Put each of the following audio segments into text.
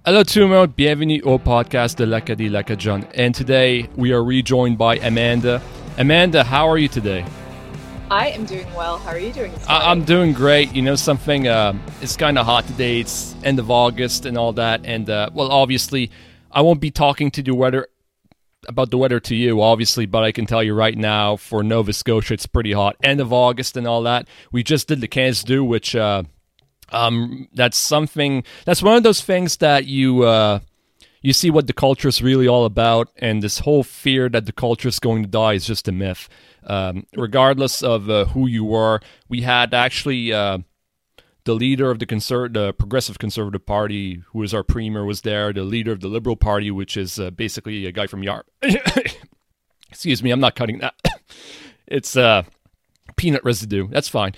Hello tout le monde, bienvenue au podcast de l'Acadie Lacadjon. And today we are rejoined by Amanda. Amanda, how are you today? I am doing well. How are you doing this morning? I'm doing great. You know something, it's kind of hot today. It's end of August and all that. And, well, obviously, I won't be talking to the weather about the weather to you, obviously, but I can tell you right now, for Nova Scotia, it's pretty hot. End of August and all that. We just did the Cannes Du, which... that's one of those things that you see what the culture is really all about, and this whole fear that the culture is going to die is just a myth. Regardless of who you were, we had actually the leader of the Progressive Conservative Party, who is our premier, was there. The leader of the Liberal Party, which is basically a guy from Yarm. Excuse me, I'm not cutting that. It's peanut residue. That's fine.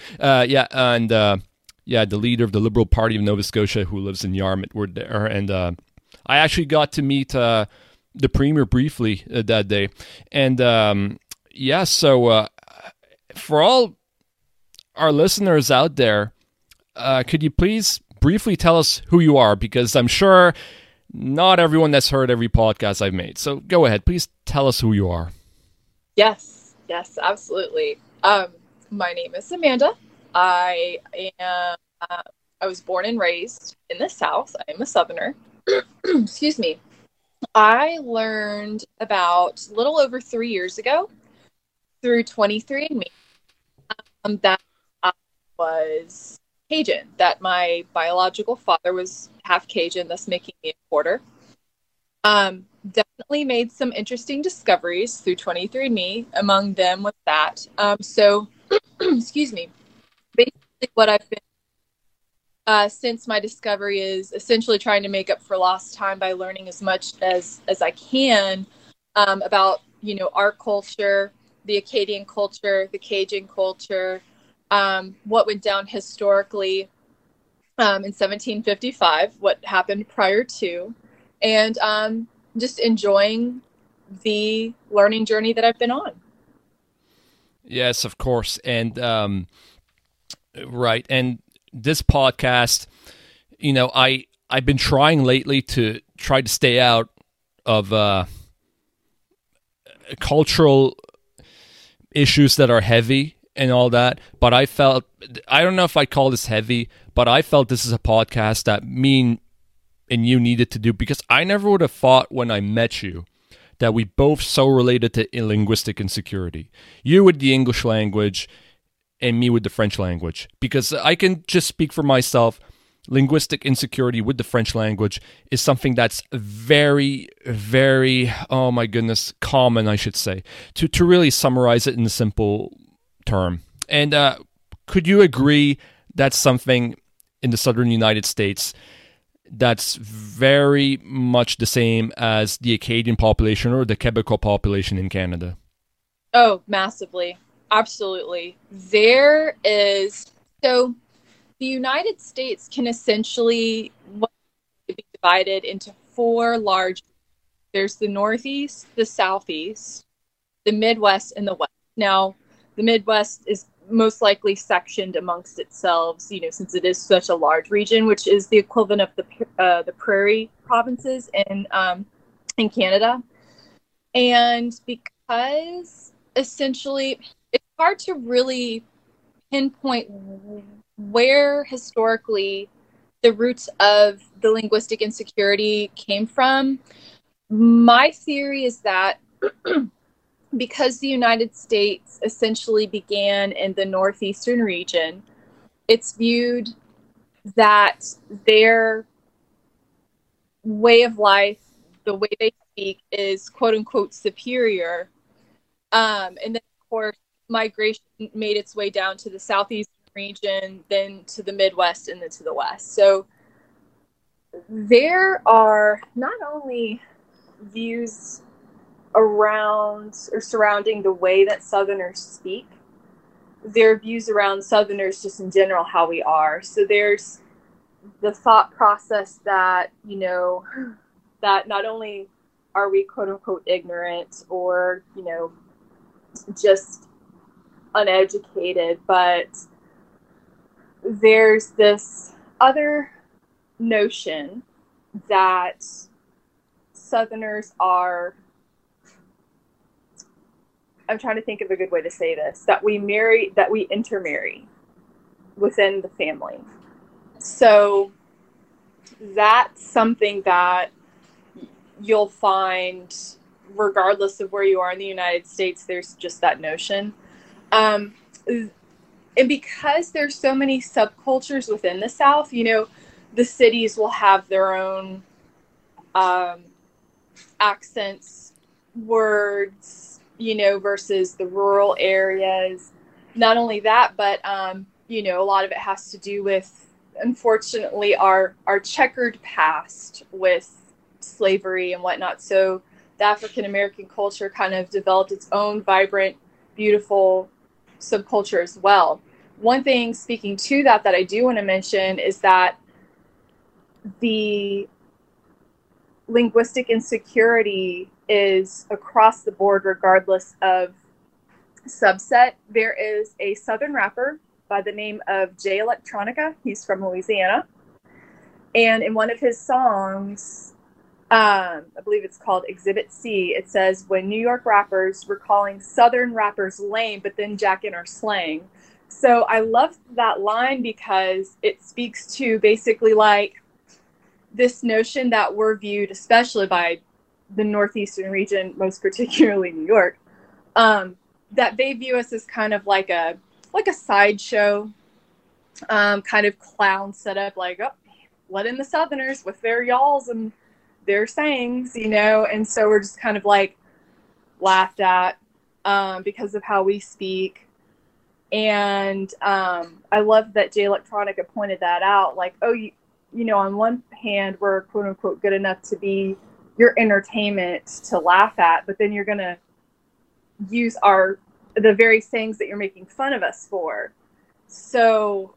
Yeah, the leader of the Liberal Party of Nova Scotia, who lives in Yarmouth, were there. And I actually got to meet the Premier briefly that day. And so for all our listeners out there, could you please briefly tell us who you are? Because I'm sure not everyone has heard every podcast I've made. So go ahead, please tell us who you are. Yes, absolutely. My name is Amanda. I was born and raised in the South. I am a Southerner. Excuse me. I learned about a little over 3 years ago through 23andMe that I was Cajun, that my biological father was half Cajun, thus making me a quarter. Definitely made some interesting discoveries through 23andMe. Among them was that. Excuse me. Basically, what I've been since my discovery is essentially trying to make up for lost time by learning as much as I can about, our culture, the Acadian culture, the Cajun culture, what went down historically in 1755, what happened prior to, and just enjoying the learning journey that I've been on. Yes, of course. And right. And this podcast, I've been trying lately to try to stay out of cultural issues that are heavy and all that. But I don't know if I call this heavy, but I felt this is a podcast that me and you needed to do, because I never would have thought when I met you that we both so related to linguistic insecurity. You with the English language and me with the French language. Because I can just speak for myself, linguistic insecurity with the French language is something that's very, very, oh my goodness, common, I should say, to really summarize it in a simple term. And could you agree that's something in the southern United States that's very much the same as the Acadian population or the Quebecois population in Canada? Oh, massively. Absolutely. The United States can essentially be divided into four large. There's the Northeast, the Southeast, the Midwest, and the West. Now, the Midwest is most likely sectioned amongst itself, since it is such a large region, which is the equivalent of the Prairie provinces in Canada. And because essentially it's hard to really pinpoint where historically the roots of the linguistic insecurity came from, my theory is that because the United States essentially began in the northeastern region, it's viewed that their way of life, the way they speak, is quote unquote superior. And then, of course, migration made its way down to the southeastern region, then to the Midwest, and then to the West. So there are not only views around or surrounding the way that Southerners speak, there are views around Southerners just in general, how we are. So there's the thought process that, that not only are we quote unquote ignorant or, just uneducated, but there's this other notion that Southerners are, I'm trying to think of a good way to say this, that we intermarry within the family. So that's something that you'll find regardless of where you are in the United States. There's just that notion. And because there's so many subcultures within the South, you know, the cities will have their own accents, words, you know, versus the rural areas. Not only that, but, you know, a lot of it has to do with, unfortunately, our checkered past with slavery and whatnot. So the African American culture kind of developed its own vibrant, beautiful subculture as well. One thing speaking to that I do want to mention is that the linguistic insecurity is across the board regardless of subset. There is a Southern rapper by the name of Jay Electronica. He's from Louisiana. And in one of his songs, I believe it's called Exhibit C, it says, when New York rappers were calling Southern rappers lame, but then jacking our slang. So I love that line because it speaks to basically like this notion that we're viewed, especially by the Northeastern region, most particularly New York, that they view us as kind of like a sideshow, kind of clown setup, like, oh, let in the Southerners with their y'alls and their sayings, you know, and so we're just kind of like laughed at because of how we speak. And I love that Jay Electronica pointed that out, like, oh, you know, on one hand, we're quote unquote good enough to be your entertainment to laugh at, but then you're going to use the very sayings that you're making fun of us for. So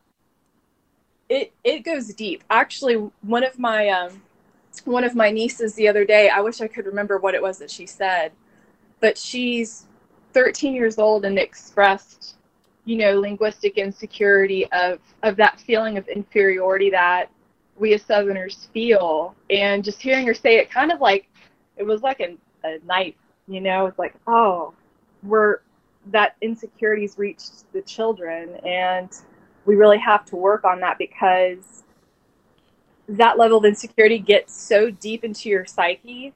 it goes deep. Actually, one of my nieces the other day, I wish I could remember what it was that she said, but she's 13 years old and expressed, you know, linguistic insecurity of that feeling of inferiority that we as Southerners feel. And just hearing her say it kind of like, it was like a knife, you know, it's like, oh, that insecurity's reached the children, and we really have to work on that because that level of insecurity gets so deep into your psyche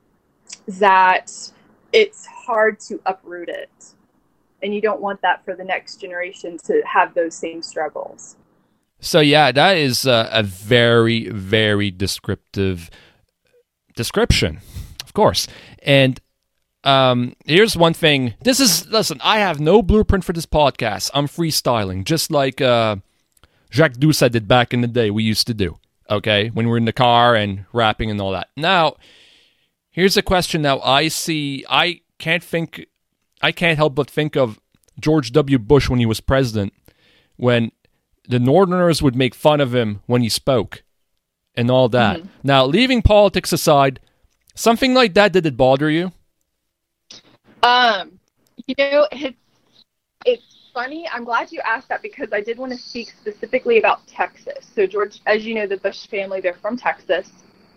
that it's hard to uproot it. And you don't want that for the next generation to have those same struggles. So yeah, that is a very, very descriptive description, of course. And here's one thing. Listen, I have no blueprint for this podcast. I'm freestyling, just like Jacques Doucet did back in the day we used to do, okay, when we're in the car and rapping and all that. Now, here's a question now I see. I can't help but think of George W. Bush when he was president, when the Northerners would make fun of him when he spoke and all that. Mm-hmm. Now, leaving politics aside, something like that, did it bother you? You know, it's funny. I'm glad you asked that because I did want to speak specifically about Texas. So George, as you know, the Bush family, they're from Texas.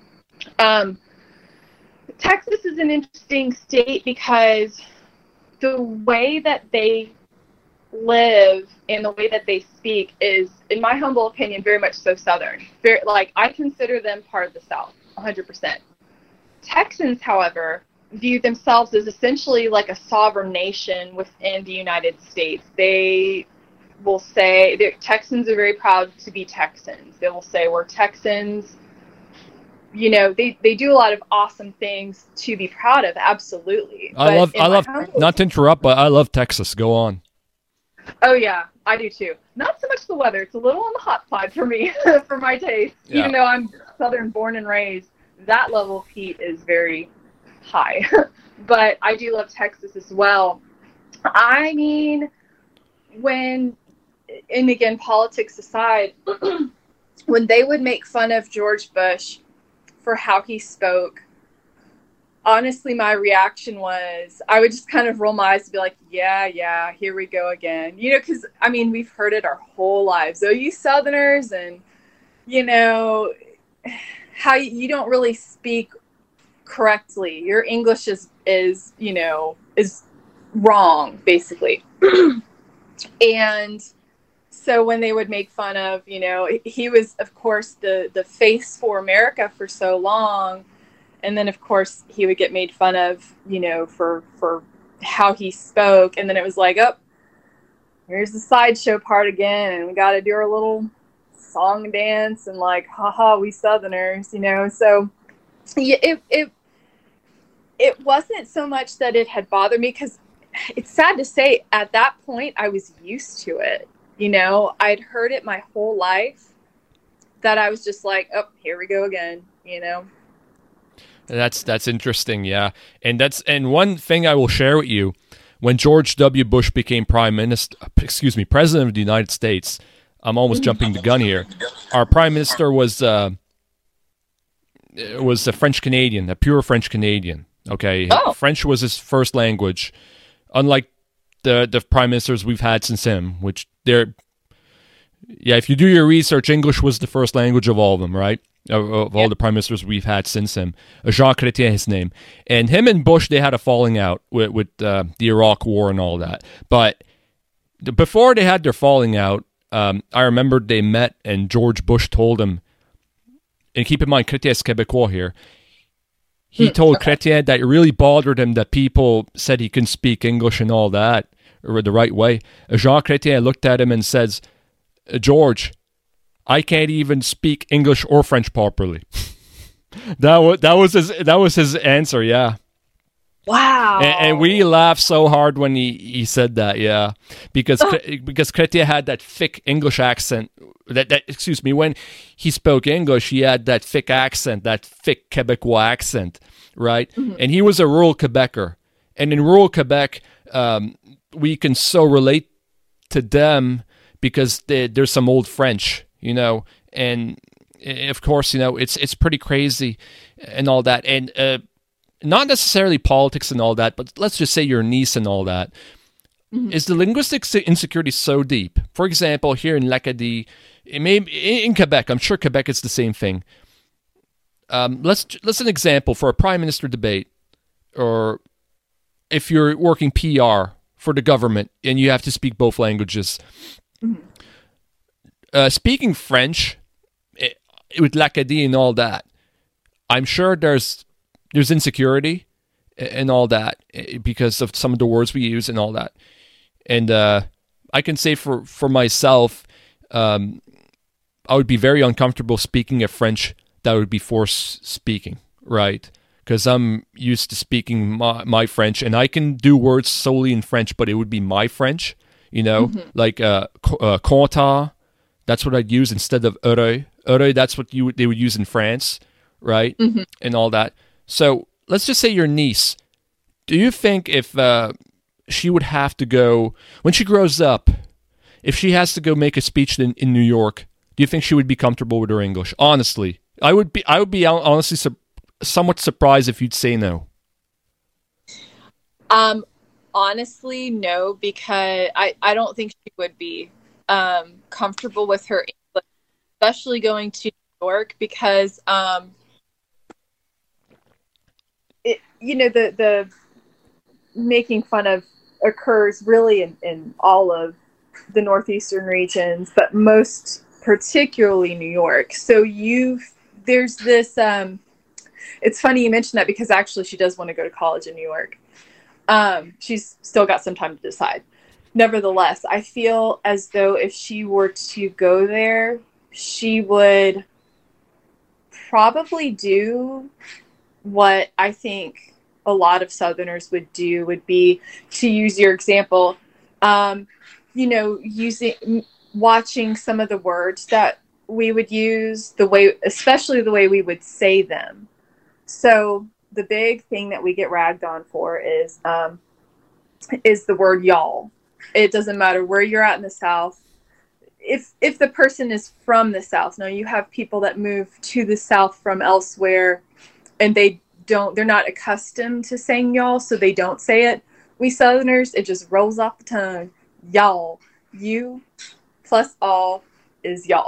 Texas is an interesting state because the way that they live and the way that they speak is, in my humble opinion, very much so Southern. I consider them part of the South, 100%. Texans, however, view themselves as essentially like a sovereign nation within the United States. They will say, Texans are very proud to be Texans. They will say, we're Texans. You know, they do a lot of awesome things to be proud of, absolutely. I love, not to interrupt, but I love Texas. Go on. Oh, yeah, I do too. Not so much the weather. It's a little on the hot side for me, for my taste. Yeah. Even though I'm Southern born and raised, that level of heat is very high. But I do love Texas as well. I mean, and again, politics aside, when they would make fun of George Bush for how he spoke, honestly, my reaction was, I would just kind of roll my eyes and be like, yeah, here we go again. You know, because, I mean, we've heard it our whole lives. Oh, you Southerners, and, you know, how you don't really speak correctly. Your English is you know, is wrong, basically. And so when they would make fun of, you know, he was, of course, the face for America for so long. And then, of course, he would get made fun of, you know, for how he spoke. And then it was like, oh, here's the sideshow part again. And we got to do our little song and dance and like, haha, we Southerners, you know. So yeah, it wasn't so much that it had bothered me, because it's sad to say at that point I was used to it. You know, I'd heard it my whole life, that I was just like, oh, here we go again, you know. That's interesting, yeah. And one thing I will share with you, when George W. Bush became president of the United States, I'm almost jumping the gun here. Our prime minister was a French Canadian, a pure French Canadian. Okay, French was his first language, unlike the prime ministers we've had since him, which if you do your research, English was the first language of all of them, right? Of all the prime ministers we've had since him. Jean Chrétien, his name. And him and Bush, they had a falling out with the Iraq War and all that. But before they had their falling out, I remember they met and George Bush told him, and keep in mind, Chrétien's Québécois here, he told Chrétien that it really bothered him that people said he couldn't speak English and all that, or the right way. Jean Chrétien looked at him and says, George, I can't even speak English or French properly. that was his answer, yeah. Wow. And we laughed so hard when he said that, yeah. Because Chrétien had that thick English accent. When he spoke English, he had that thick accent, that thick Quebecois accent, right? Mm-hmm. And he was a rural Quebecer. And in rural Quebec, we can so relate to them because there's some old French, you know, and of course, you know, it's pretty crazy and all that. And not necessarily politics and all that, but let's just say your niece and all that. Mm-hmm. Is the linguistic insecurity so deep? For example, here in l'Acadie, in Quebec, I'm sure Quebec is the same thing. Let's an example for a prime minister debate, or if you're working PR for the government and you have to speak both languages. Mm-hmm. Speaking French with l'Acadie and all that, I'm sure there's insecurity and all that because of some of the words we use and all that. And I can say for myself, I would be very uncomfortable speaking a French that would be forced speaking, right? Because I'm used to speaking my French, and I can do words solely in French, but it would be my French, you know, mm-hmm. like content, that's what I'd use instead of heureux. Heureux, that's what they would use in France, right? Mm-hmm. And all that. So let's just say your niece. Do you think if she would have to go, when she grows up, if she has to go make a speech in New York, do you think she would be comfortable with her English? Honestly, I would be honestly somewhat surprised if you'd say no. Honestly, no, because I don't think she would be comfortable with her English, especially going to New York, because you know, the making fun of occurs really in all of the northeastern regions, but most particularly New York. So there's this, it's funny you mentioned that, because actually she does want to go to college in New York. She's still got some time to decide. Nevertheless, I feel as though if she were to go there, she would probably do what I think a lot of Southerners would do, would be, to use your example, you know, watching some of the words that we would use, especially the way we would say them. So the big thing that we get ragged on for is the word y'all. It doesn't matter where you're at in the South. If the person is from the South, now you have people that move to the South from elsewhere, and they're not accustomed to saying y'all, so they don't say it. We Southerners, it just rolls off the tongue. Y'all. You plus all is y'all.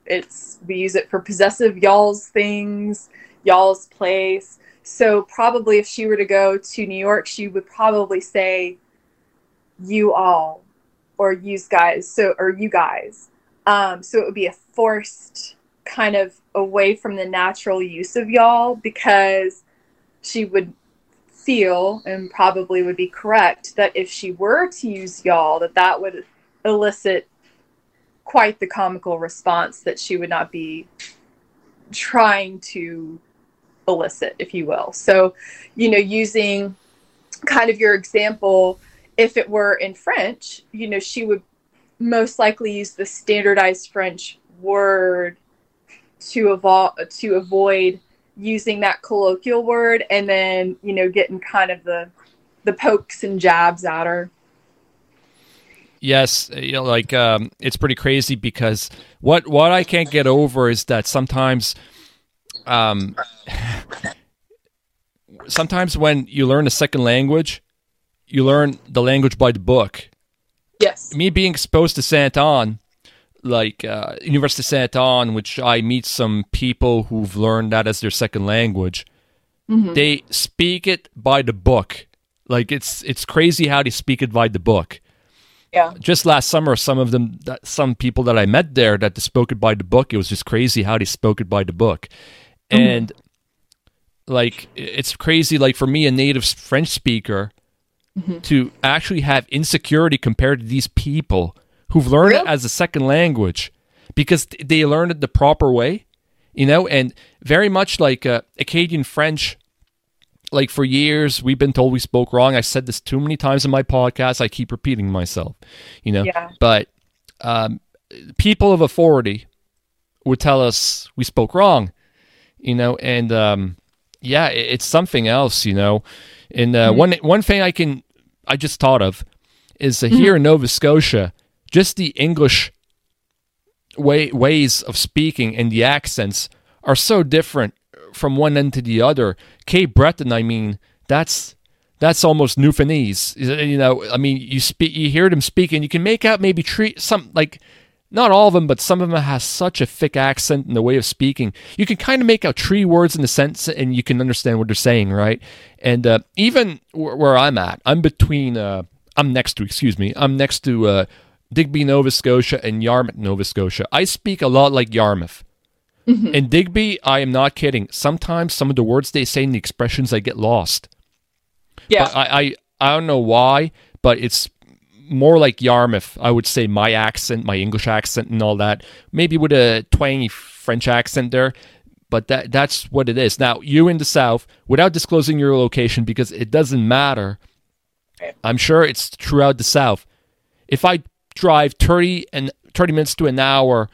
We use it for possessive y'all's things, y'all's place. So probably if she were to go to New York, she would probably say you all or yous guys, or you guys. So it would be a forced kind of away from the natural use of y'all, because she would feel, and probably would be correct, that if she were to use y'all, that would elicit quite the comical response that she would not be trying to elicit, if you will. So, using kind of your example, if it were in French, she would most likely use the standardized French word to avoid using that colloquial word, and then, getting kind of the pokes and jabs at her. Yes, it's pretty crazy, because what I can't get over is that sometimes when you learn a second language, you learn the language by the book. Yes. Me being exposed to Saint Anne, University of Saint Anne, which I meet some people who've learned that as their second language, they speak it by the book. Like, it's crazy how they speak it by the book. Yeah. Just last summer, some people that I met there that spoke it by the book, it was just crazy how they spoke it by the book. And it's crazy, like, for me, a native French speaker, to actually have insecurity compared to these people who've learned it as a second language, because they learned it the proper way, and very much like Acadian French. Like, for years, we've been told we spoke wrong. I said this too many times in my podcast. I keep repeating myself, Yeah. But people of authority would tell us we spoke wrong, and it's something else, And one thing I just thought of is here in Nova Scotia, just the English ways of speaking and the accents are so different from one end to the other. Cape Breton, I mean, that's almost Newfoundlandese. You hear them speak, and you can make out maybe some, like, not all of them, but some of them has such a thick accent in the way of speaking. You can kind of make out 3 words in the sentence, and you can understand what they're saying, right? And even where I'm at, I'm next to Digby, Nova Scotia, and Yarmouth, Nova Scotia. I speak a lot like Yarmouth. In Digby, I am not kidding. Sometimes some of the words they say and the expressions, I get lost. Yeah. But I don't know why, but it's more like Yarmouth. I would say my accent, my English accent and all that, maybe with a twangy French accent there, but that's what it is. Now, you in the South, without disclosing your location, because it doesn't matter, I'm sure it's throughout the South. If I drive 30 minutes to an hour,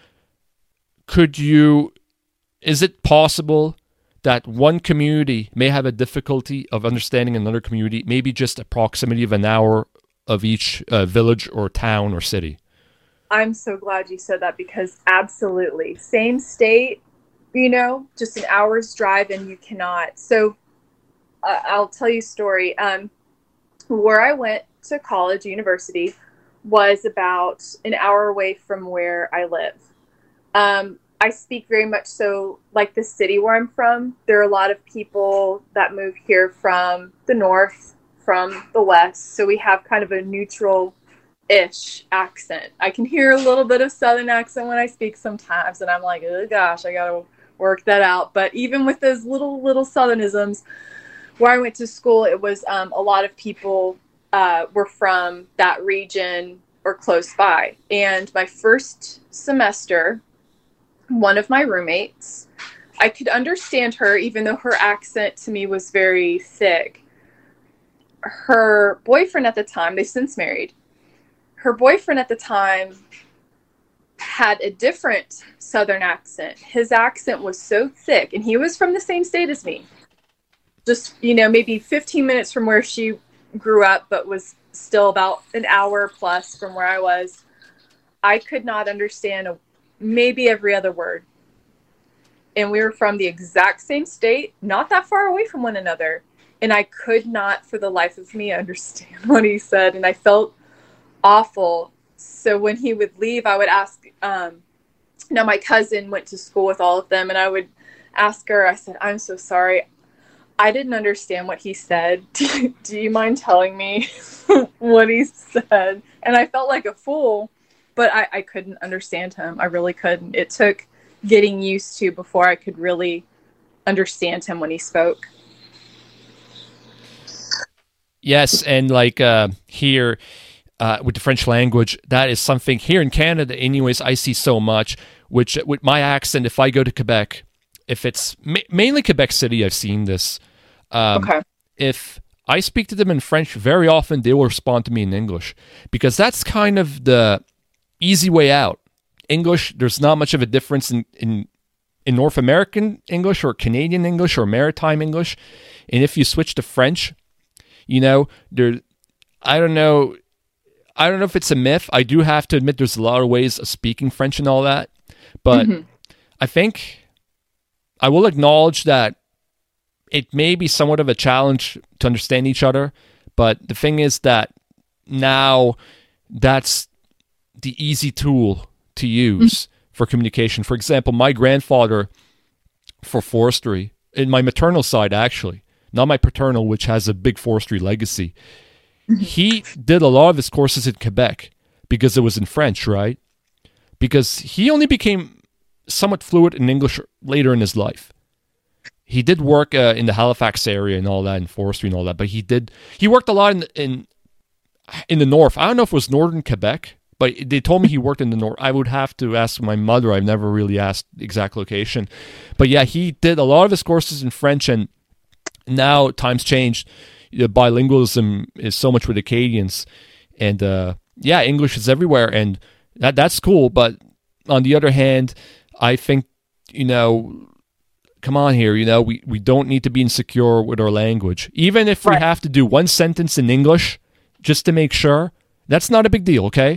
is it possible that one community may have a difficulty of understanding another community, maybe just a proximity of an hour of each village or town or city? I'm so glad you said that, because absolutely. Same state, just an hour's drive, and you cannot. So I'll tell you a story. Where I went to college, university, was about an hour away from where I live. I speak very much so like the city where I'm from. There are a lot of people that move here from the north, from the west, so we have kind of a neutral-ish accent. I can hear a little bit of Southern accent when I speak sometimes, and I'm like, oh gosh, I gotta work that out. But even with those little Southernisms, where I went to school, it was a lot of people were from that region or close by. And my first semester, one of my roommates, I could understand her, even though her accent to me was very thick. Her boyfriend at the time, they've since married, her boyfriend at the time had a different Southern accent. His accent was so thick, and he was from the same state as me. Just, maybe 15 minutes from where she grew up, but was still about an hour plus from where I was. I could not understand maybe every other word. And we were from the exact same state, not that far away from one another. And I could not, for the life of me, understand what he said. And I felt awful. So when he would leave, I would ask Now, my cousin went to school with all of them, and I would ask her, I said, I'm so sorry. I didn't understand what he said. Do you mind telling me what he said? And I felt like a fool, but I couldn't understand him. I really couldn't. It took getting used to before I could really understand him when he spoke. Yes, and like here with the French language, that is something here in Canada, anyways, I see so much. Which with my accent, if I go to Quebec, if it's mainly Quebec City, I've seen this. Okay. If I speak to them in French, very often they will respond to me in English because that's kind of the easy way out. English, there's not much of a difference in North American English or Canadian English or Maritime English. And if you switch to French, I don't know if it's a myth. I do have to admit there's a lot of ways of speaking French and all that. But I think I will acknowledge that it may be somewhat of a challenge to understand each other. But the thing is that now that's the easy tool to use for communication. For example, my grandfather for forestry, in my maternal side actually, not my paternal, which has a big forestry legacy, he did a lot of his courses in Quebec because it was in French, right? Because he only became somewhat fluent in English later in his life. He did work in the Halifax area and all that, in forestry and all that, but he worked a lot in the north. I don't know if it was northern Quebec, but they told me he worked in the north. I would have to ask my mother. I've never really asked the exact location. But yeah, he did a lot of his courses in French, and now times changed. Bilingualism is so much with Acadians, and English is everywhere, and that's cool. But on the other hand, I think come on here, we don't need to be insecure with our language, even if we have to do one sentence in English just to make sure. That's not a big deal, okay?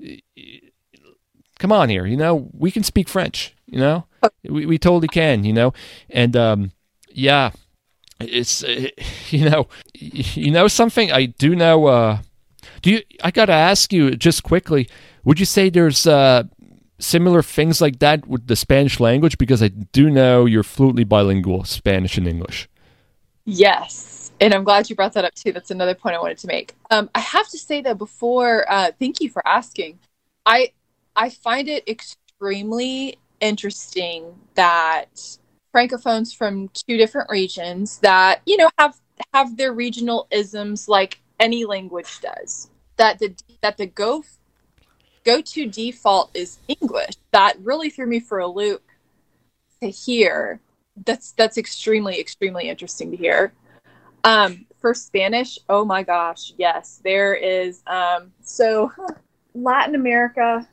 Come on here, we can speak French, we totally can, and it's something I do know. I gotta ask you just quickly, would you say there's similar things like that with the Spanish language? Because I do know you're fluently bilingual, Spanish and English. Yes, and I'm glad you brought that up too. That's another point I wanted to make. I have to say that before, thank you for asking. I find it extremely interesting that Francophones from two different regions that have their regional isms like any language does. That the go-to default is English. That really threw me for a loop to hear. That's extremely, extremely interesting to hear. For Spanish, oh my gosh, yes, there is. So Latin America,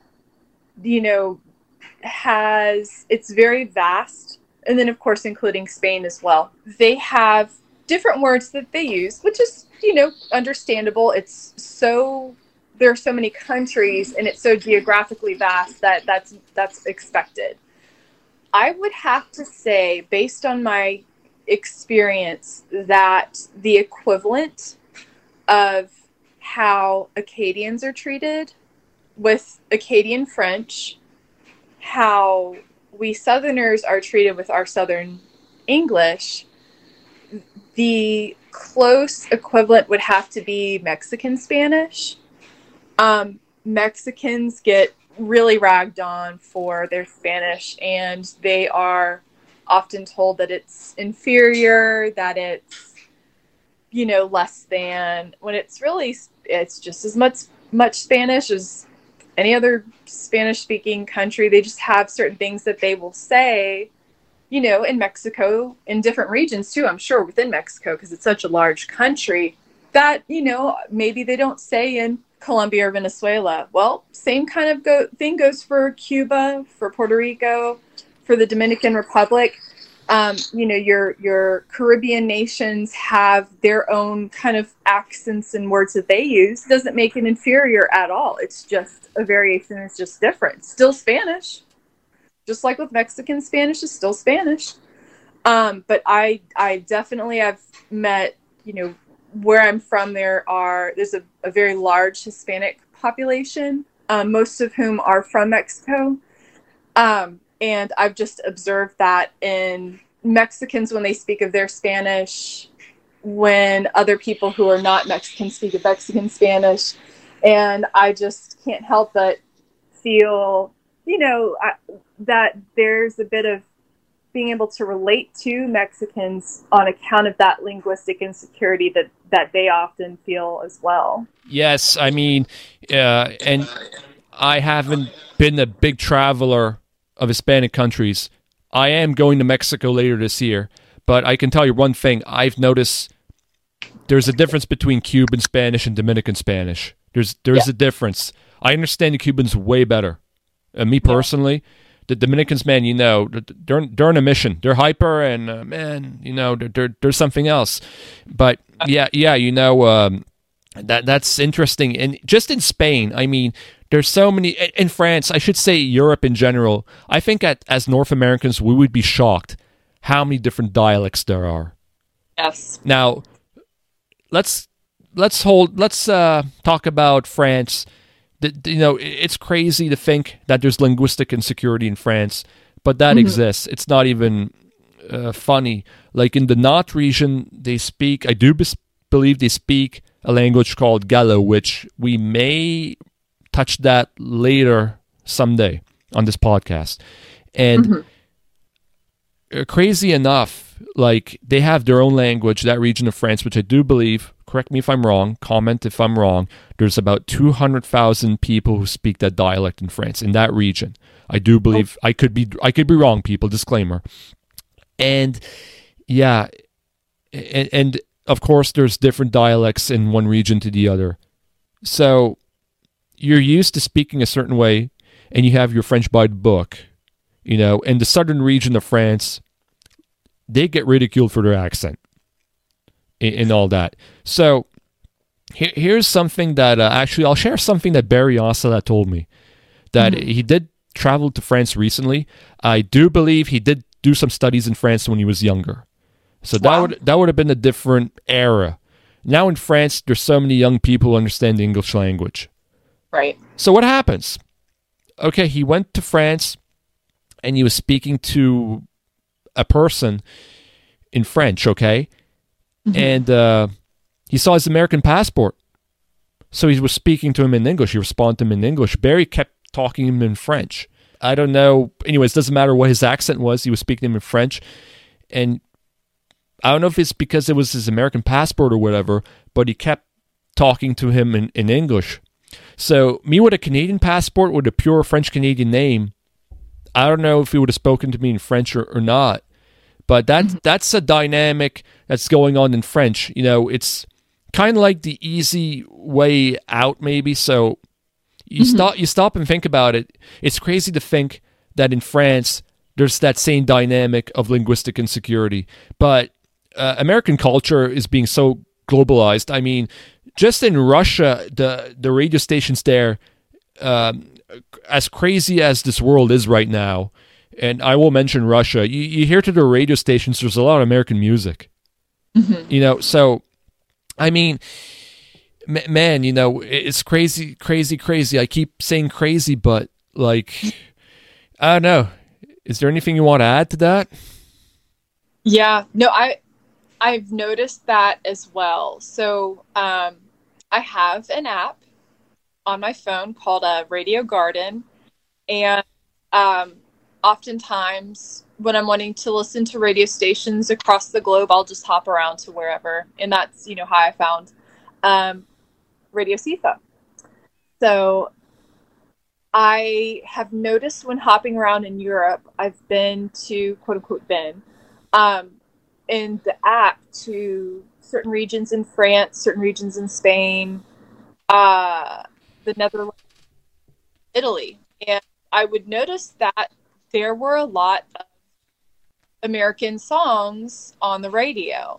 it's very vast. And then, of course, including Spain as well. They have different words that they use, which is, understandable. There are so many countries, and it's so geographically vast that that's expected. I would have to say, based on my experience, that the equivalent of how Acadians are treated with Acadian French, how we Southerners are treated with our Southern English, the close equivalent would have to be Mexican Spanish. Mexicans get really ragged on for their Spanish, and they are often told that it's inferior, that it's, less than, when it's just as much Spanish as any other Spanish-speaking country. They just have certain things that they will say, in Mexico, in different regions too, I'm sure, within Mexico, because it's such a large country, that, maybe they don't say in Colombia or Venezuela. Well, same kind of thing goes for Cuba, for Puerto Rico, for the Dominican Republic. Your Caribbean nations have their own kind of accents and words that they use. It doesn't make it inferior at all. It's just a variation. It's just different. Still Spanish. Just like with Mexican Spanish, is still Spanish. But I definitely have met, where I'm from, there's a very large Hispanic population, most of whom are from Mexico. And I've just observed that in Mexicans when they speak of their Spanish, when other people who are not Mexican speak of Mexican Spanish. And I just can't help but feel, that there's a bit of being able to relate to Mexicans on account of that linguistic insecurity that they often feel as well. Yes, I mean, and I haven't been a big traveler of Hispanic countries. I am going to Mexico later this year, but I can tell you one thing. I've noticed there's a difference between Cuban Spanish and Dominican Spanish. There's a difference. I understand the Cubans way better. Me personally, the Dominicans, man, they're on a mission. They're hyper, and there's something else. But that's interesting. And just in Spain, I mean, there's so many. In France, I should say Europe in general. I think as North Americans, we would be shocked how many different dialects there are. Yes. Now, let's talk about France. It's crazy to think that there's linguistic insecurity in France, but that exists. It's not even funny. Like in the Nantes region, they speak, I do believe they speak a language called Gallo, which we may touch that later someday on this podcast. And crazy enough, like they have their own language, that region of France, which I do believe, correct me if I'm wrong, comment if I'm wrong, there's about 200,000 people who speak that dialect in France, in that region. I do believe, I could be wrong, people, disclaimer. And yeah, and of course there's different dialects in one region to the other. So you're used to speaking a certain way, and you have your French by the book, in the southern region of France, they get ridiculed for their accent and all that. So here's something that actually I'll share something that Barry Ossala told me, that he did travel to France recently. I do believe he did do some studies in France when he was younger. So that would have been a different era. Now in France, there's so many young people who understand the English language. Right. So what happens? Okay, he went to France and he was speaking to a person in French, okay? And he saw his American passport. So he was speaking to him in English. He responded to him in English. Barry kept talking to him in French. I don't know. Anyways, doesn't matter what his accent was. He was speaking to him in French. And I don't know if it's because it was his American passport or whatever, but he kept talking to him in English. So me with a Canadian passport with a pure French-Canadian name, I don't know if he would have spoken to me in French or not. But that's a dynamic that's going on in French. It's kind of like the easy way out, maybe. So you stop and think about it. It's crazy to think that in France there's that same dynamic of linguistic insecurity. But American culture is being so globalized. I mean, just in Russia, the radio stations there, as crazy as this world is right now, and I will mention Russia, you hear to the radio stations, there's a lot of American music. So, I mean, man, it's crazy, crazy, crazy. I keep saying crazy, but, like, I don't know. Is there anything you want to add to that? Yeah, no, I've noticed that as well. So, I have an app on my phone called Radio Garden, and oftentimes when I'm wanting to listen to radio stations across the globe, I'll just hop around to wherever, and that's how I found Radio CIFA. So I have noticed when hopping around in Europe, I've been to quote unquote in the app to certain regions in France, certain regions in Spain, the Netherlands, Italy, and I would notice that there were a lot of American songs on the radio,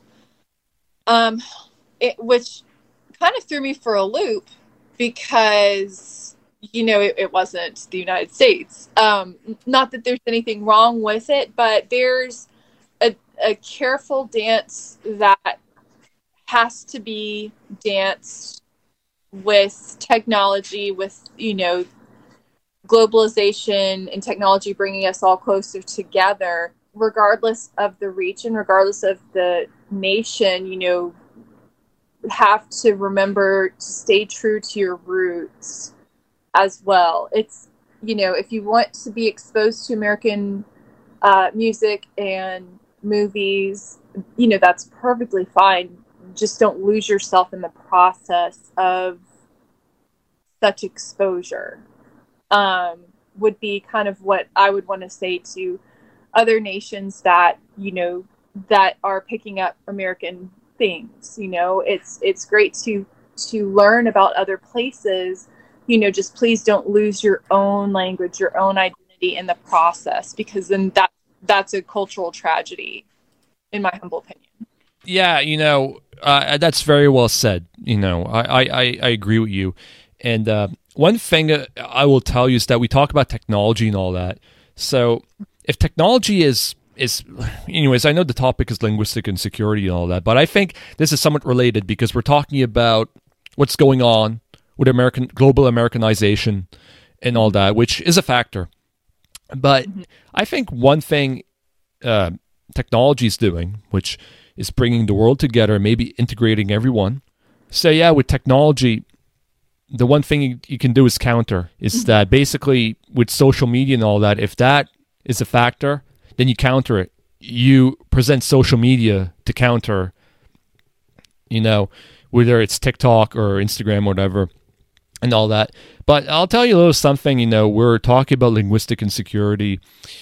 which kind of threw me for a loop because, it wasn't the United States. Not that there's anything wrong with it, but there's a careful dance that has to be danced with technology, with, globalization and technology bringing us all closer together, regardless of the region, regardless of the nation, have to remember to stay true to your roots as well. It's, if you want to be exposed to American music and movies, that's perfectly fine. Just don't lose yourself in the process of such exposure. Would be kind of what I would want to say to other nations that, that are picking up American things. It's great to learn about other places, just please don't lose your own language, your own identity in the process, because then that's a cultural tragedy, in my humble opinion. Yeah, that's very well said. I agree with you. And one thing I will tell you is that we talk about technology and all that. So if technology is anyways, I know the topic is linguistic insecurity and all that, but I think this is somewhat related because we're talking about what's going on with global Americanization and all that, which is a factor. But I think one thing technology is doing, which is bringing the world together, maybe integrating everyone. So yeah, with technology, the one thing you can do is counter, is that basically with social media and all that, if that is a factor, then you counter it. You present social media to counter, whether it's TikTok or Instagram or whatever and all that. But I'll tell you a little something, we're talking about linguistic insecurity.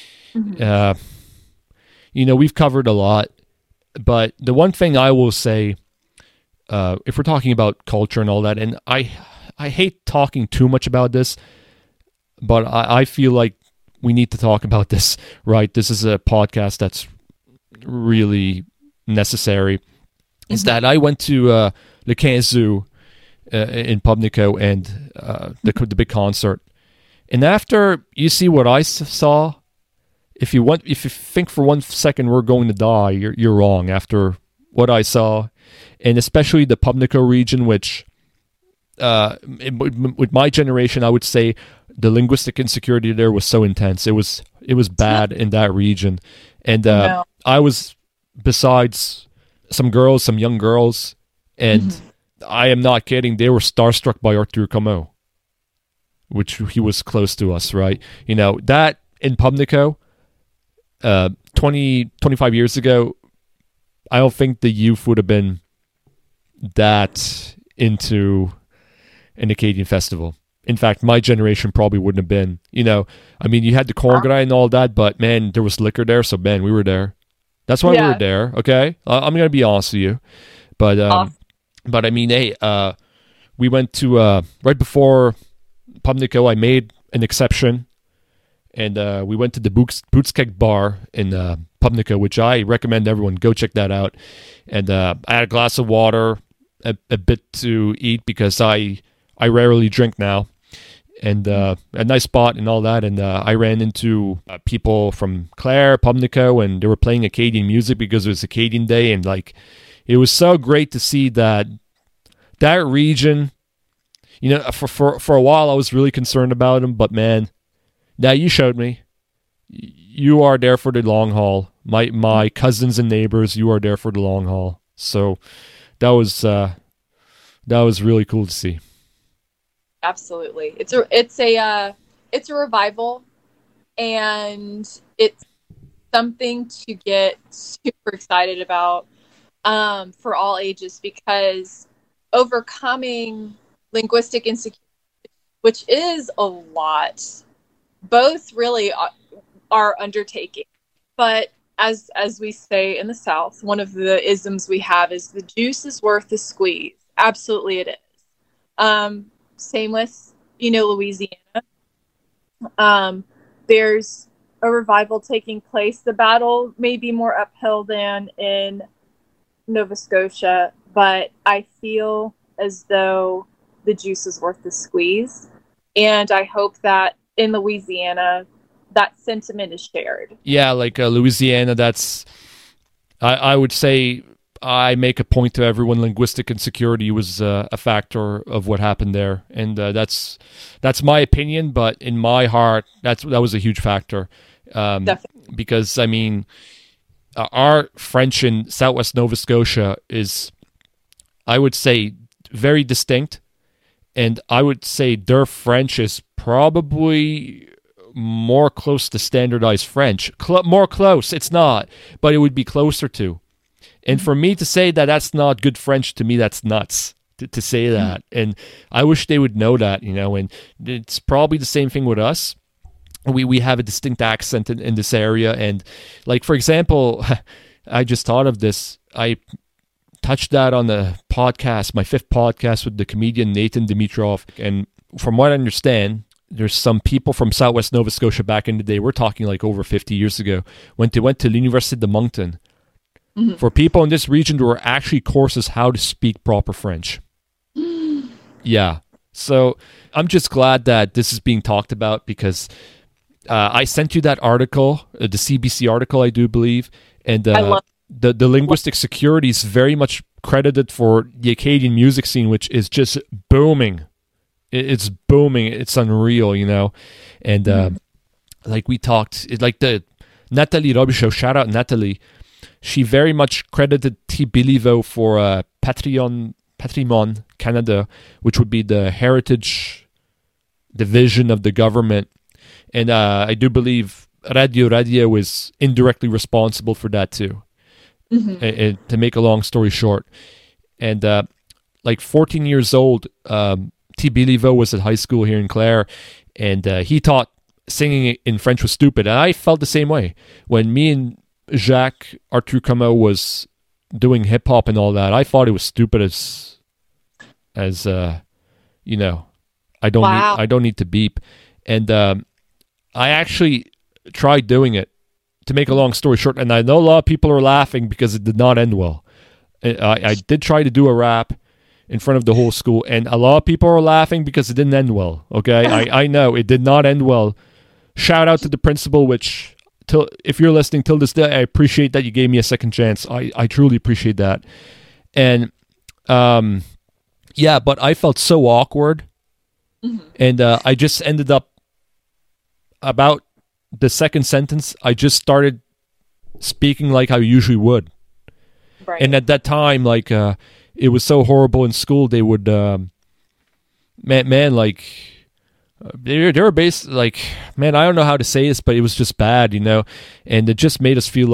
We've covered a lot, but the one thing I will say, if we're talking about culture and all that, and I hate talking too much about this, but I feel like we need to talk about this, right? This is a podcast that's really necessary. Is that I went to Le Quinze in Pubnico and the big concert. And after you see what I saw, if you think for 1 second we're going to die, you're wrong. After what I saw, and especially the Pubnico region, which with my generation, I would say the linguistic insecurity there was so intense. It was bad in that region, and I was besides some young girls, and I am not kidding. They were starstruck by Arthur Como, which he was close to us, right? That in Pubnico, 25 years ago, I don't think the youth would have been that into an Acadian festival. In fact, my generation probably wouldn't have been. You had the Congrès and all that, but man, there was liquor there, so man, we were there. That's why we were there. Okay, I'm gonna be honest with you, but I mean, hey, we went to right before Pubnico. I made an exception, and we went to the Bootskeg bar in Pubnico, which I recommend everyone go check that out. And I had a glass of water, a bit to eat because I rarely drink now, and a nice spot and all that. And I ran into people from Clare, Pubnico, and they were playing Acadian music because it was Acadian Day, and it was so great to see that region. For a while I was really concerned about them, but man, now you showed me you are there for the long haul. My cousins and neighbors, you are there for the long haul. So that was really cool to see. Absolutely. It's a revival, and it's something to get super excited about for all ages, because overcoming linguistic insecurity, which is a lot, both really are undertaking. But as we say in the South, one of the isms we have is the juice is worth the squeeze. Absolutely it is. Same with, Louisiana. There's a revival taking place. The battle may be more uphill than in Nova Scotia, but I feel as though the juice is worth the squeeze. And I hope that in Louisiana, that sentiment is shared. Yeah, Louisiana, that's, I would say, I make a point to everyone: linguistic insecurity was a factor of what happened there, and that's my opinion. But in my heart, that was a huge factor, because I mean, our French in Southwest Nova Scotia is, I would say, very distinct, and I would say their French is probably more close to standardized French. More close, it's not, but it would be closer to. And for me to say that that's not good French, to me, that's nuts to say that. And I wish they would know that, and it's probably the same thing with us. We have a distinct accent in this area. And like, for example, I just thought of this. I touched that on the podcast, my 5th podcast with the comedian Nathan Dimitrov. And from what I understand, there's some people from Southwest Nova Scotia back in the day, we're talking like over 50 years ago, when they went to l'Université de Moncton. Mm-hmm. For people in this region, there were actually courses how to speak proper French. Yeah. So I'm just glad that this is being talked about, because I sent you that article, the CBC article, I do believe, and the linguistic security is very much credited for the Acadian music scene, which is just booming. It's booming. It's unreal, and like we talked, like the Nathalie Robichaud, shout out Nathalie. She very much credited T. Béliveau for Patrimoine Canada, which would be the heritage division of the government. And I do believe Radio is indirectly responsible for that too. Mm-hmm. And to make a long story short. And like 14 years old, T. Béliveau was at high school here in Clare, and he thought singing in French was stupid. And I felt the same way. When me and Jacques Arthur Comeau was doing hip hop and all that, I thought it was stupid as I don't need to beep. And I actually tried doing it, to make a long story short, and I know a lot of people are laughing because it did not end well. I did try to do a rap in front of the whole school, and a lot of people are laughing because it didn't end well. Okay, I know it did not end well. Shout out to the principal, which, if you're listening till this day, I appreciate that you gave me a second chance. I truly appreciate that. And but I felt so awkward, and I just ended up, about the second sentence, I just started speaking like I usually would. Right. And at that time, like, it was so horrible in school. They would, they were based, like, man, I don't know how to say this, but it was just bad, and it just made us feel,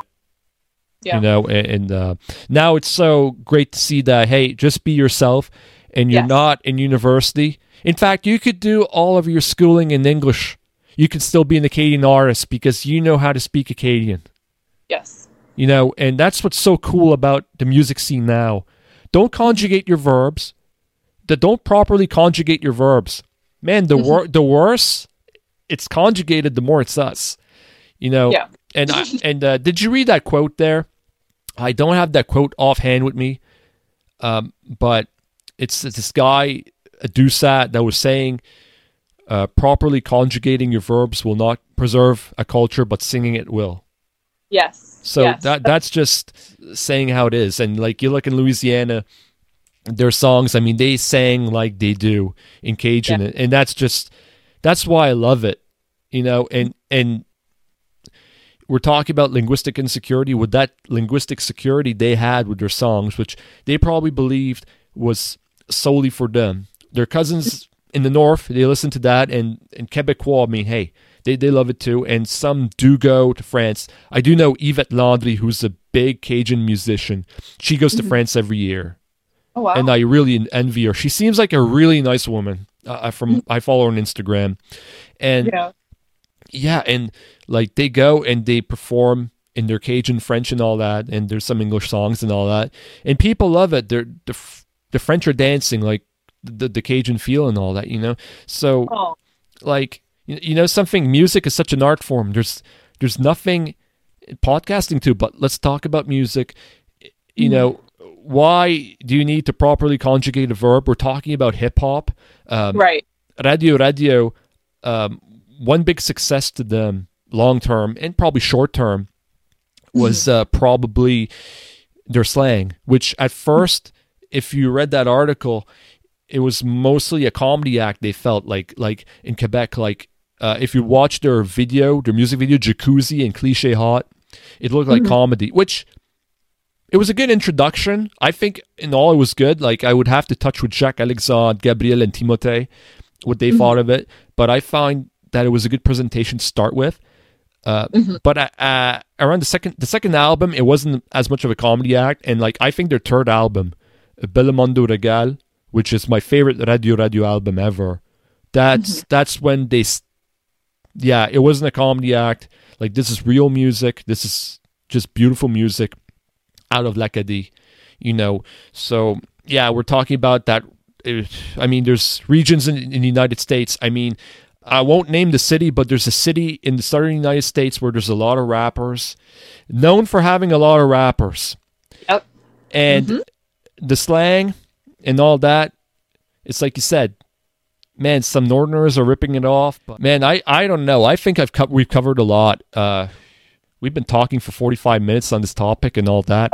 and now it's so great to see that, hey, just be yourself, and you're not in university. In fact, you could do all of your schooling in English. You could still be an Acadian artist because you know how to speak Acadian. Yes. And that's what's so cool about the music scene now. Don't conjugate your verbs. Don't properly conjugate your verbs. Man, the worse it's conjugated, the more it's us. Yeah. And did you read that quote there? I don't have that quote offhand with me, but it's this guy, Doucet, that was saying, properly conjugating your verbs will not preserve a culture, but singing it will. Yes. So that's just saying how it is. And like, you look in Louisiana, their songs, I mean, they sang like they do in Cajun, and that's why I love it, and we're talking about linguistic insecurity. With that linguistic security they had with their songs, which they probably believed was solely for them. Their cousins in the north, they listen to that, and Québécois, I mean, hey, they love it too, and some do go to France. I do know Yvette Landry, who's a big Cajun musician. She goes to France every year. Oh, wow. And I really envy her. She seems like a really nice woman. I follow her on Instagram. And and like, they go and they perform in their Cajun French and all that, and there's some English songs and all that. And people love it. The French are dancing like the Cajun feel and all that, So like, something, music is such an art form. There's nothing podcasting to, but let's talk about music. Why do you need to properly conjugate a verb? We're talking about hip hop. Right. Radio, one big success to them long term and probably short term was probably their slang, which at first, if you read that article, it was mostly a comedy act. They felt like in Quebec, if you watch their music video, Jacuzzi and Cliche Hot, it looked like comedy, which it was a good introduction. I think in all it was good. Like, I would have to touch with Jacques Alexandre, Gabriel, and Timothée what they thought of it, but I find that it was a good presentation to start with. But around the second album, it wasn't as much of a comedy act, and like I think their third album, Belmondo Regal, which is my favorite Radio album ever, that's when it wasn't a comedy act. Like, this is real music. This is just beautiful music out of l'Acadie, So yeah, we're talking about that. I mean, there's regions in the United States. I mean, I won't name the city, but there's a city in the southern United States where there's a lot of rappers, known for having a lot of rappers. Yep. And the slang and all that, it's like you said, man, some Northerners are ripping it off. But man, I don't know. I think we've covered a lot. We've been talking for 45 minutes on this topic and all that.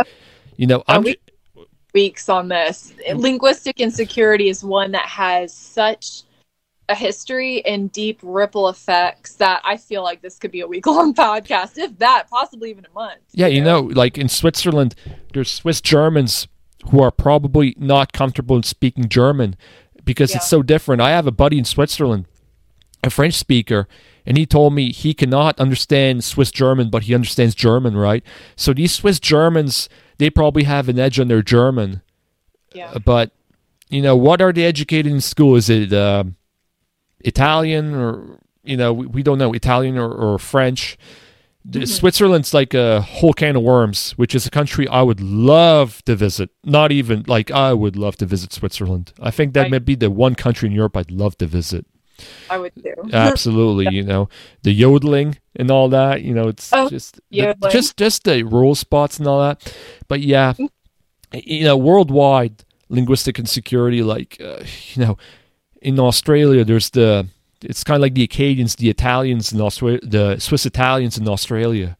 Weeks on this. Linguistic insecurity is one that has such a history and deep ripple effects that I feel like this could be a week-long podcast, if that, possibly even a month. Yeah, like in Switzerland, there's Swiss Germans who are probably not comfortable in speaking German because it's so different. I have a buddy in Switzerland, a French speaker, and he told me he cannot understand Swiss German, but he understands German, right? So these Swiss Germans, they probably have an edge on their German. Yeah. But, what are they educated in school? Is it Italian or, we don't know, Italian or French? Switzerland's like a whole can of worms, which is a country I would love to visit. Not even, I would love to visit Switzerland. I think that might be the one country in Europe I'd love to visit. I would too. Absolutely, the yodeling and all that, it's just the rural spots and all that. But yeah, worldwide linguistic insecurity, in Australia, it's kind of like the Acadians, the Italians in Australia, the Swiss Italians in Australia,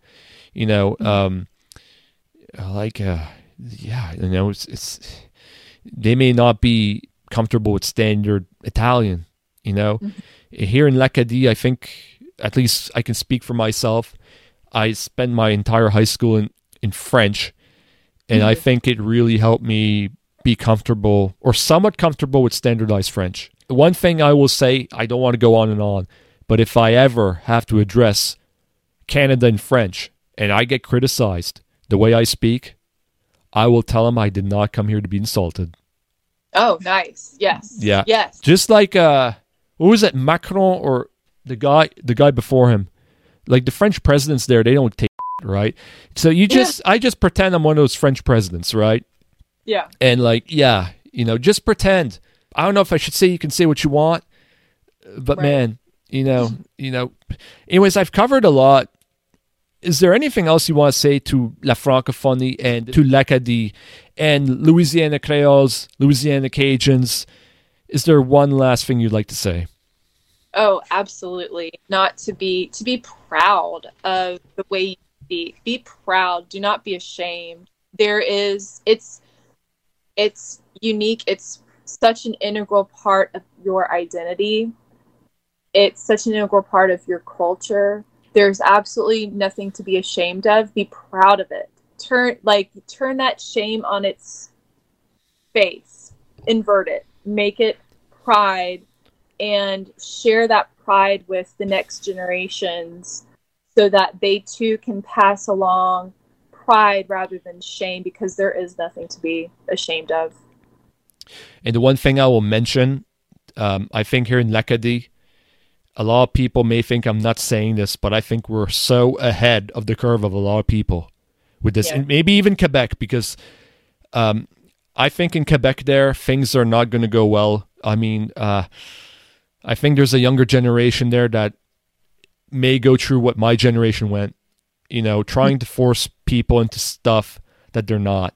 it's they may not be comfortable with standard Italian. Here in l'Acadie, I think, at least I can speak for myself, I spent my entire high school in French, and I think it really helped me be comfortable or somewhat comfortable with standardized French. One thing I will say, I don't want to go on and on, but if I ever have to address Canada in French and I get criticized the way I speak, I will tell them I did not come here to be insulted. Oh, nice. Yes. Yeah. Yes. Just like what was it, Macron or the guy before him? Like the French presidents there, they don't take right? So I just pretend I'm one of those French presidents, right? Yeah. And just pretend. I don't know if I should say you can say what you want, but man, anyways, I've covered a lot. Is there anything else you want to say to La Francophonie and to l'Acadie and Louisiana Creoles, Louisiana Cajuns? Is there one last thing you'd like to say? Oh, absolutely. Not to be proud of the way you speak. Be proud. Do not be ashamed. It's unique. It's such an integral part of your identity. It's such an integral part of your culture. There's absolutely nothing to be ashamed of. Be proud of it. Turn that shame on its face. Invert it. Make it pride, and share that pride with the next generations so that they too can pass along pride rather than shame, because there is nothing to be ashamed of. And the one thing I will mention, I think here in l'Acadie, a lot of people may think I'm not saying this, but I think we're so ahead of the curve of a lot of people with this, and maybe even Quebec, because I think in Quebec there, things are not going to go well. I mean, I think there's a younger generation there that may go through what my generation went, trying to force people into stuff that they're not,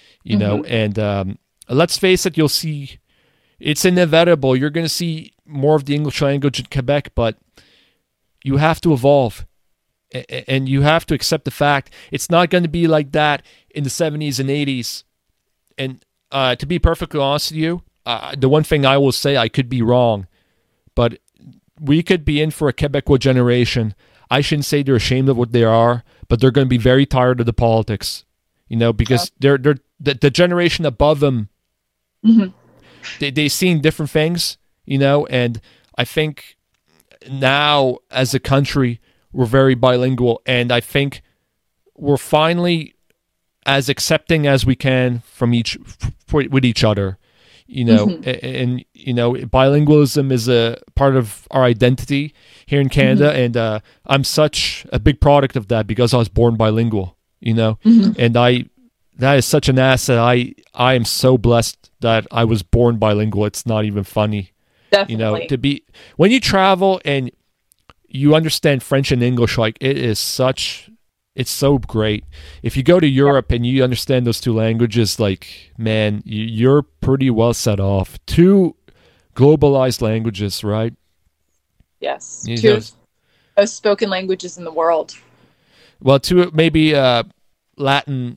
and let's face it, you'll see, it's inevitable. You're going to see more of the English language in Quebec, but you have to evolve. And you have to accept the fact it's not going to be like that in the 70s and 80s. And to be perfectly honest with you, the one thing I will say, I could be wrong, but we could be in for a Quebecois generation. I shouldn't say they're ashamed of what they are, but they're going to be very tired of the politics, because they're the generation above them. They've seen different things, and I think now as a country we're very bilingual, and I think we're finally as accepting as we can from with each other, and bilingualism is a part of our identity here in Canada, and I'm such a big product of that because I was born bilingual, and that is such an asset. I am so blessed that I was born bilingual. It's not even funny. Definitely. When you travel and you understand French and English, like it's so great. If you go to Europe and you understand those two languages, like, man, you're pretty well set off. Two globalized languages, right? Yes. Two of spoken languages in the world. Well, two maybe Latin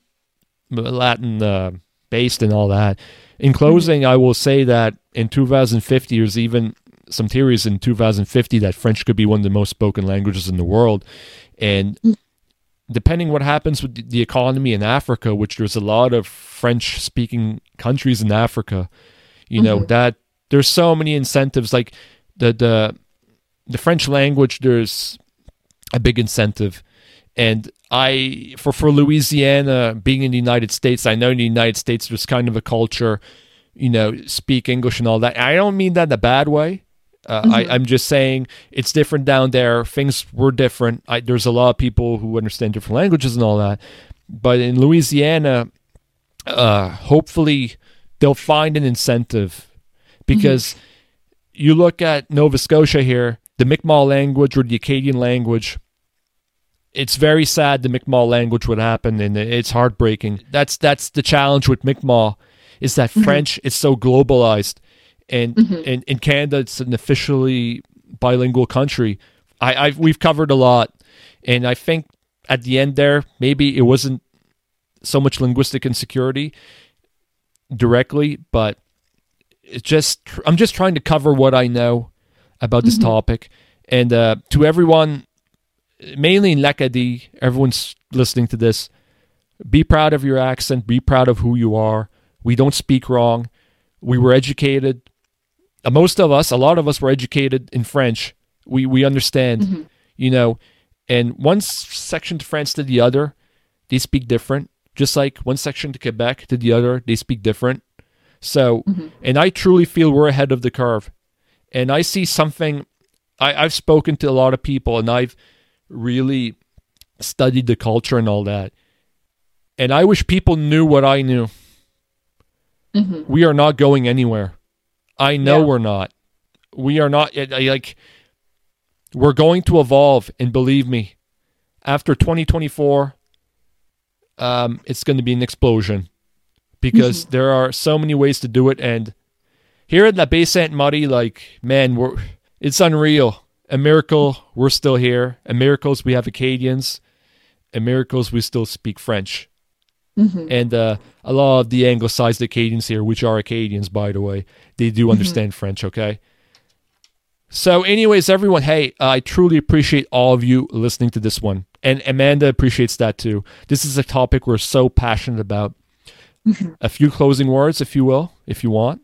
based and all that. In closing, I will say that in 2050, there's even some theories in 2050 that French could be one of the most spoken languages in the world. And depending what happens with the economy in Africa, which there's a lot of French-speaking countries in Africa, that there's so many incentives. Like the French language, there's a big incentive. And for Louisiana, being in the United States, I know in the United States there's kind of a culture, speak English and all that. I don't mean that in a bad way. I'm just saying it's different down there. Things were different. There's a lot of people who understand different languages and all that. But in Louisiana, hopefully they'll find an incentive, because you look at Nova Scotia here, the Mi'kmaq language or the Acadian language, it's very sad the Mi'kmaq language would happen, and it's heartbreaking. That's the challenge with Mi'kmaq, is that French is so globalized, and in Canada it's an officially bilingual country. We've covered a lot, and I think at the end there, maybe it wasn't so much linguistic insecurity directly, but I'm just trying to cover what I know about this topic, and to everyone, mainly in l'Acadie, everyone's listening to this, be proud of your accent, be proud of who you are. We don't speak wrong. We were educated. A lot of us were educated in French. We understand, and one section to France to the other, they speak different. Just like one section to Quebec to the other, they speak different. So, and I truly feel we're ahead of the curve. And I see something, I've spoken to a lot of people, and I've really studied the culture and all that. And I wish people knew what I knew. We are not going anywhere. I know we're not. We are not, we're going to evolve, and believe me, after 2024, it's going to be an explosion, because there are so many ways to do it. And here at La Baie Sainte-Marie, man, it's unreal. A miracle, we're still here. A miracle, we have Acadians. A miracle, we still speak French. And a lot of the anglicized Acadians here, which are Acadians, by the way, they do understand French, okay? So anyways, everyone, hey, I truly appreciate all of you listening to this one. And Amanda appreciates that too. This is a topic we're so passionate about. A few closing words, if you will, if you want.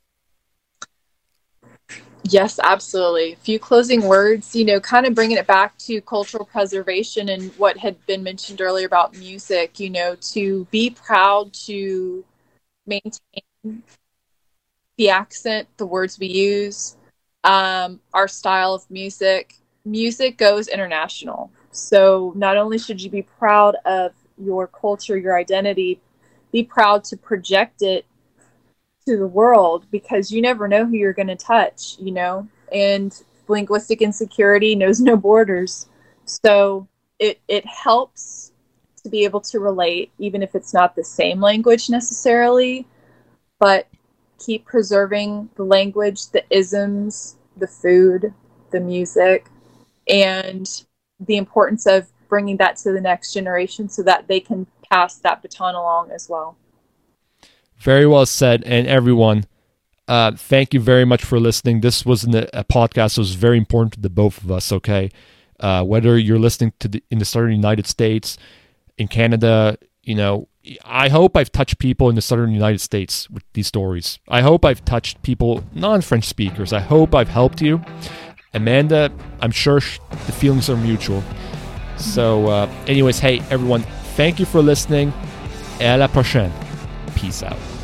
Yes, absolutely. A few closing words, kind of bringing it back to cultural preservation and what had been mentioned earlier about music, to be proud to maintain the accent, the words we use, our style of music. Music goes international. So not only should you be proud of your culture, your identity, be proud to project it to the world, because you never know who you're going to touch, and linguistic insecurity knows no borders. So it helps to be able to relate, even if it's not the same language necessarily, but keep preserving the language, the isms, the food, the music, and the importance of bringing that to the next generation so that they can pass that baton along as well. Very well said. And everyone, thank you very much for listening. This was a podcast that was very important to the both of us, okay? Whether you're listening in the southern United States, in Canada, I hope I've touched people in the southern United States with these stories. I hope I've touched people, non-French speakers. I hope I've helped you. Amanda, I'm sure the feelings are mutual. So anyways, hey, everyone, thank you for listening. Et à la prochaine. Peace out.